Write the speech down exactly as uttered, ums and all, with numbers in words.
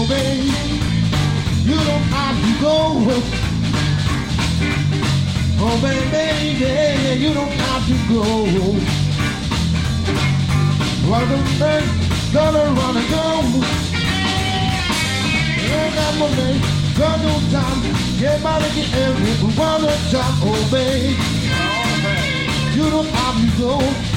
baby, you don't have to go. Oh, baby, yeah, you don't have to go. Run and gonna run and go. Ain't got no name, got no time. Get by the end, run and jump, oh, baby, you don't have to go.